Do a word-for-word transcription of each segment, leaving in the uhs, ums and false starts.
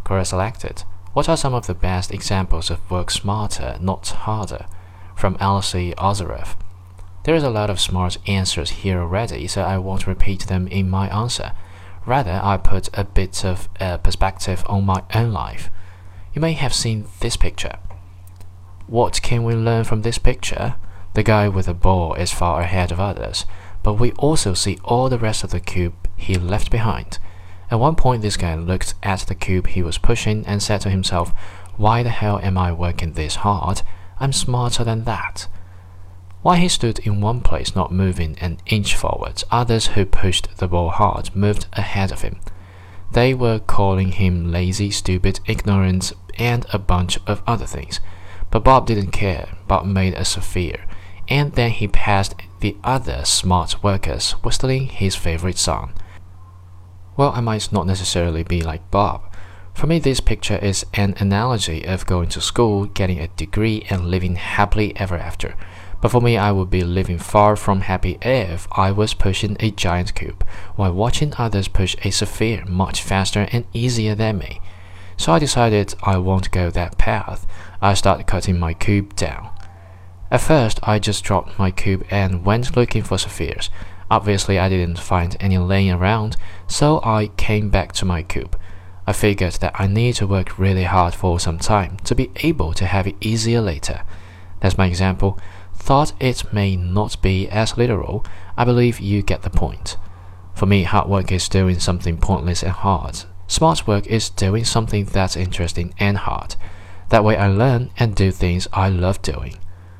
Quora selected. What are some of the best examples of work smarter, not harder? From Alcee Ozerev. There is a lot of smart answers here already, so I won't repeat them in my answer. Rather, I put a bit of a perspective on my own life. You may have seen this picture. What can we learn from this picture? The guy with the ball is far ahead of others, but we also see all the rest of the cube he left behind. At one point, this guy looked at the cube he was pushing and said to himself, "Why the hell am I working this hard? I'm smarter than that." While he stood in one place not moving an inch forward, others who pushed the ball hard moved ahead of him. They were calling him lazy, stupid, ignorant, and a bunch of other things. But Bob didn't care. Bob made a sphere, and then he passed the other smart workers, whistling his favorite song. Well, I might not necessarily be like Bob. For me, this picture is an analogy of going to school, getting a degree, and living happily ever after. But for me, I would be living far from happy if I was pushing a giant cube, while watching others push a sphere much faster and easier than me. So I decided I won't go that path. I started cutting my cube down. At first, I just dropped my cube and went looking for spheres. Obviously, I didn't find any laying around, so I came back to my cube. I figured that I need to work really hard for some time to be able to have it easier later. That's my example. Thought it may not be as literal. I believe you get the point. For me, hard work is doing something pointless and hard. Smart work is doing something that's interesting and hard. That way I learn and do things I love doing.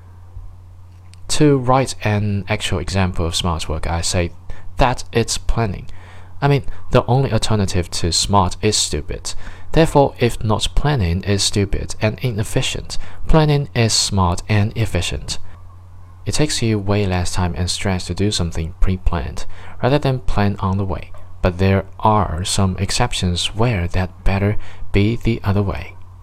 To write an actual example of smart work, I say that it's planning. I mean, the only alternative to smart is stupid. Therefore, if not planning is stupid and inefficient, planning is smart and efficient. It takes you way less time and stress to do something pre-planned, rather than plan on the way. But there are some exceptions where that better be the other way.